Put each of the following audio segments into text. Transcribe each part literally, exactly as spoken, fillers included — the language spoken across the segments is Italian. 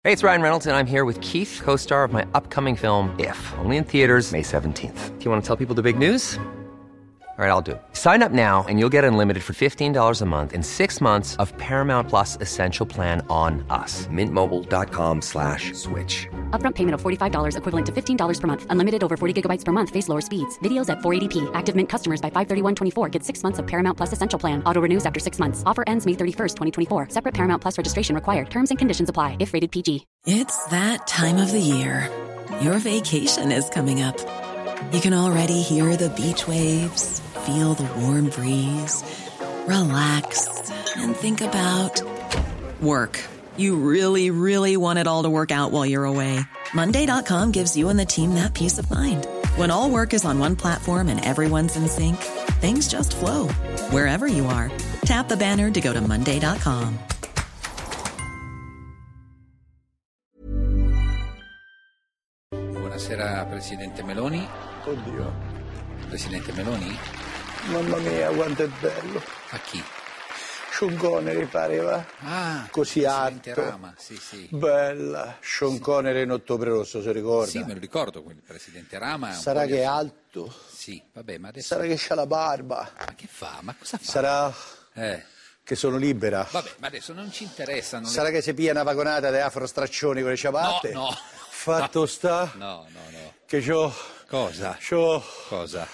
Hey, it's Ryan Reynolds, and I'm here with Keith, co-star of my upcoming film, If, only in theaters May seventeenth. Do you want to tell people the big news? All right, I'll do it. Sign up now and you'll get unlimited for fifteen dollars a month and six months of Paramount Plus Essential Plan on us. Mint Mobile dot com slash switch. Upfront payment of forty-five dollars equivalent to fifteen dollars per month. Unlimited over forty gigabytes per month. Face lower speeds. Videos at four eighty p. Active Mint customers by five thirty-one twenty-four get six months of Paramount Plus Essential Plan. Auto renews after six months. Offer ends May thirty-first, twenty twenty-four. Separate Paramount Plus registration required. Terms and conditions apply if rated P G. It's that time of the year. Your vacation is coming up. You can already hear the beach waves, feel the warm breeze, relax, and think about work. You really, really want it all to work out while you're away. Monday dot com gives you and the team that peace of mind. When all work is on one platform and everyone's in sync, things just flow. Wherever you are, tap the banner to go to Monday dot com. Buonasera Presidente Meloni. Oddio. Presidente Meloni? Mamma mia, quanto è bello. A chi? Sean Connery pareva. Ah, così Presidente alto. Rama, sì, sì. Bella. Sean sì. Connery in Ottobre Rosso, si ricorda? Sì, me lo ricordo, quel Presidente Rama. Sarà che è alto? Sì, vabbè, ma adesso... Sarà che c'ha la barba? Ma che fa? Ma cosa fa? Sarà... Eh... che sono libera? Vabbè, ma adesso non ci interessano... Sarà le... che si pia una vagonata di afrostraccioni con le ciabatte? No, no. Fatto no. sta? No, no, no. Che c'ho... Cosa? C'ho... Cosa?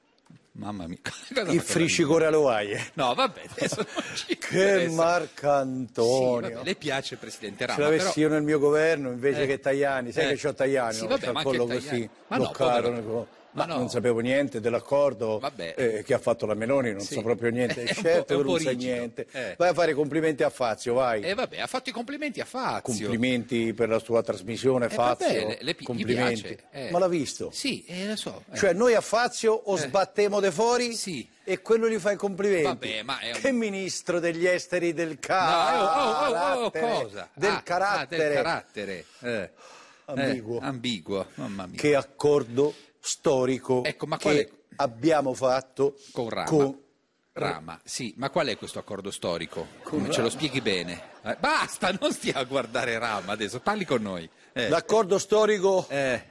Mamma mia. Cosa il fricicore all'oaie. No, vabbè, adesso non ci Che Marcantonio. Sì, vabbè, le piace il Presidente Rama. Se l'avessi però... io nel mio governo invece eh. che Tajani, sai eh. che c'ho Tajani, sì, no? vabbè, C'ho ma il collo anche così ma bloccato. No, ma no. non sapevo niente dell'accordo eh, che ha fatto la Meloni, non sì. so proprio niente. È Certo che non sai niente. Eh. Vai a fare complimenti a Fazio, vai. E eh, vabbè, ha fatto i complimenti a Fazio. Complimenti per la sua trasmissione, eh, Fazio. Vabbè, le, le, complimenti. Piace, eh. Ma l'ha visto? Sì, eh, lo so. Eh. Cioè noi a Fazio o eh. sbattiamo de fuori? Sì. E quello gli fa i complimenti. Vabbè, ma è un... Che ministro degli esteri del carattere? No, oh, oh, oh, oh, cosa? Del ah, carattere. Ah, del carattere. Eh. Ambiguo. Eh, ambiguo, mamma mia. Che accordo storico ecco, ma che quale... abbiamo fatto con Rama. Con... Rama, sì, ma qual è questo accordo storico? Con Ce lo spieghi bene. Eh, basta, non stia a guardare Rama adesso, parli con noi. Eh. L'accordo storico Eh.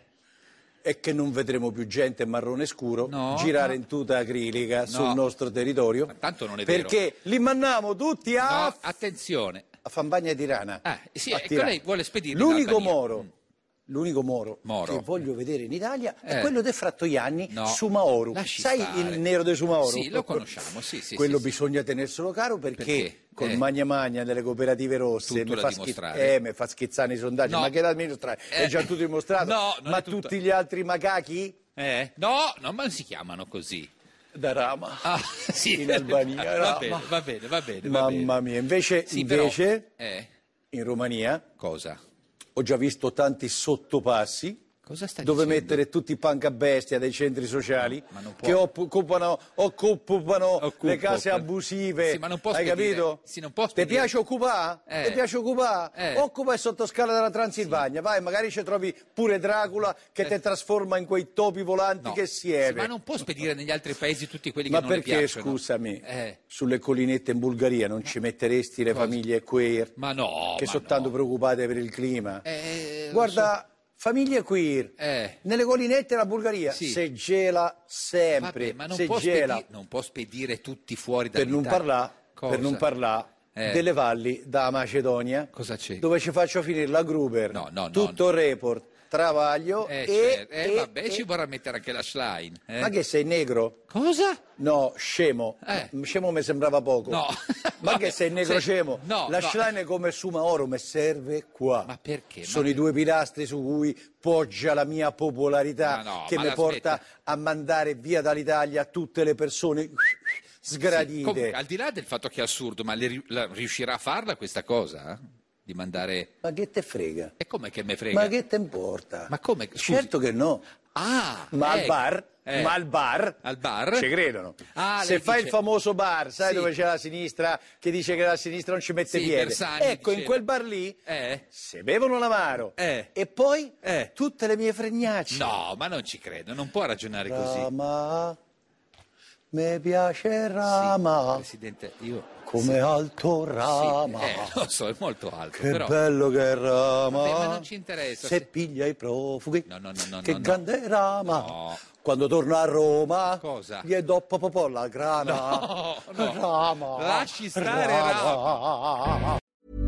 è che non vedremo più gente marrone scuro no, girare no. in tuta acrilica no. sul nostro territorio. Ma tanto non è perché vero. Perché li mandiamo tutti a... No, attenzione. A Fampagna di Tirana. Ah, sì, a ecco, Tirana. lei vuole spedirli L'unico in Moro... Mm. L'unico Moro, Moro che voglio vedere in Italia eh. è quello di Frattoianni, no. Sumaoru. Lasci Sai stare. il nero di Sumaoru? Sì, lo conosciamo, sì, sì. Quello sì, bisogna sì. tenerselo caro perché, perché? col eh. magna magna delle cooperative rosse mi fa, schi- eh, mi fa schizzare i sondaggi, no. ma che da dimostrare? Eh. È già tutto dimostrato. No, non ma è tutto. tutti gli altri macachi? Eh? No, no, ma non si chiamano così. Da Rama. Ah, sì. In Albania. Va Rama. bene, va bene, va bene. Mamma va bene. mia, invece, sì, invece però, eh. in Romania cosa? Ho già visto tanti sottopassi. Cosa stai dove dicendo? mettere tutti i pancabestia dei centri sociali ma non può. che occupano, occupano Occupo, le case per... abusive. Sì, ma non può hai spedire. capito? Sì, non può Ti piace occupare? Eh. Ti piace occupare? Eh. Occupa il sottoscala della Transilvania, sì. Vai, magari ci trovi pure Dracula che eh. ti trasforma in quei topi volanti no. che sieve. Sì, ma non può spedire negli altri paesi tutti quelli ma che non le perché, piacciono. scusami, eh. sulle collinette in Bulgaria non ci metteresti le Cosa? famiglie queer? Ma no, che ma sono no. tanto preoccupate per il clima. Eh, Guarda... Famiglie queer, eh. nelle collinette della Bulgaria, sì. se gela sempre, Vabbè, ma non, se può gela. Spedire, non può spedire tutti fuori Per non dall'Italia. parlare, per non parlare eh. delle valli da Macedonia, cosa c'è? Dove ci faccio finire la Gruber, no, no, tutto no. il report, travaglio eh, e, certo. eh, e, vabbè, e... ci vorrà mettere anche la Schlein. Eh? Ma che sei negro? Cosa? No, scemo. Eh. Scemo mi sembrava poco. No. Ma Vabbè, che sei negro se... scemo? No, la no. Schlein è come Sumaoro, mi serve qua. Ma perché? Sono ma i due pilastri su cui poggia la mia popolarità, no, che mi porta a mandare via dall'Italia tutte le persone sgradite. Sì, comunque, al di là del fatto che è assurdo, ma le, la, riuscirà a farla questa cosa? Eh? Di mandare... Ma che te frega? E come che me frega? Ma che te importa? Ma come? Scusi. Certo che no. Ah, ma eh, al bar, eh. ma al bar, al bar? ci credono. Ah, se fai dice... il famoso bar, sai sì. dove c'è la sinistra che dice che la sinistra non ci mette sì, piede? Bersani ecco, diceva. in quel bar lì eh. se bevono l'amaro eh. e poi eh. tutte le mie fregnacce. No, ma non ci credo, non può ragionare così. Rama, mi piace rama. Sì, Presidente, io... Come sì. alto rama. Sì, eh, lo so, è molto alto. Che però... bello che è rama. Vabbè, ma non ci interessa. Se Se... piglia i profughi. No, no, no, no. Che no, grande no. rama. No. Quando torno a Roma. Cosa? Gli do popopò la grana. No, no. Rama. Lasci stare rama.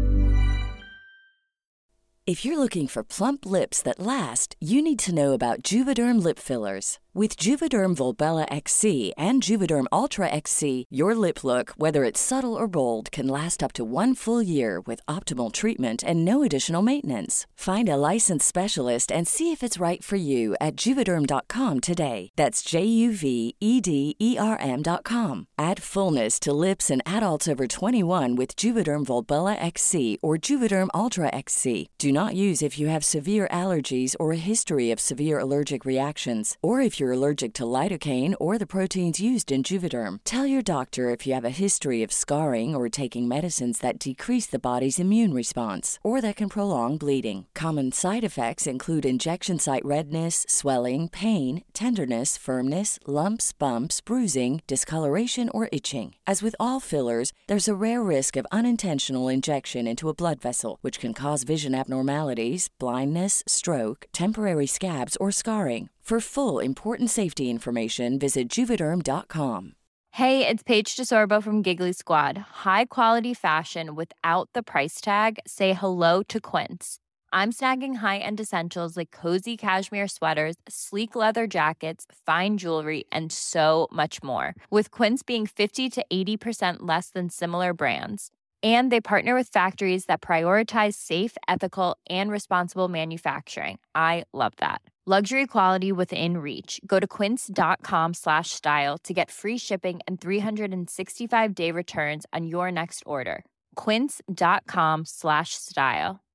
If you're looking for plump lips that last, you need to know about Juvederm lip fillers. With Juvederm Volbella X C and Juvederm Ultra X C, your lip look, whether it's subtle or bold, can last up to one full year with optimal treatment and no additional maintenance. Find a licensed specialist and see if it's right for you at Juvederm dot com today. That's J U V E D E R M dot com. Add fullness to lips in adults over twenty-one with Juvederm Volbella X C or Juvederm Ultra X C. Do not use if you have severe allergies or a history of severe allergic reactions, or if you're allergic to lidocaine or the proteins used in Juvederm. Tell your doctor if you have a history of scarring or taking medicines that decrease the body's immune response or that can prolong bleeding. Common side effects include injection site redness, swelling, pain, tenderness, firmness, lumps, bumps, bruising, discoloration, or itching. As with all fillers, there's a rare risk of unintentional injection into a blood vessel, which can cause vision abnormalities, blindness, stroke, temporary scabs, or scarring. For full, important safety information, visit Juvederm dot com. Hey, it's Paige DeSorbo from Giggly Squad. High quality fashion without the price tag. Say hello to Quince. I'm snagging high-end essentials like cozy cashmere sweaters, sleek leather jackets, fine jewelry, and so much more. With Quince being fifty to eighty percent less than similar brands. And they partner with factories that prioritize safe, ethical, and responsible manufacturing. I love that. Luxury quality within reach. Go to quince dot com slash style to get free shipping and three sixty-five day returns on your next order. quince dot com slash style.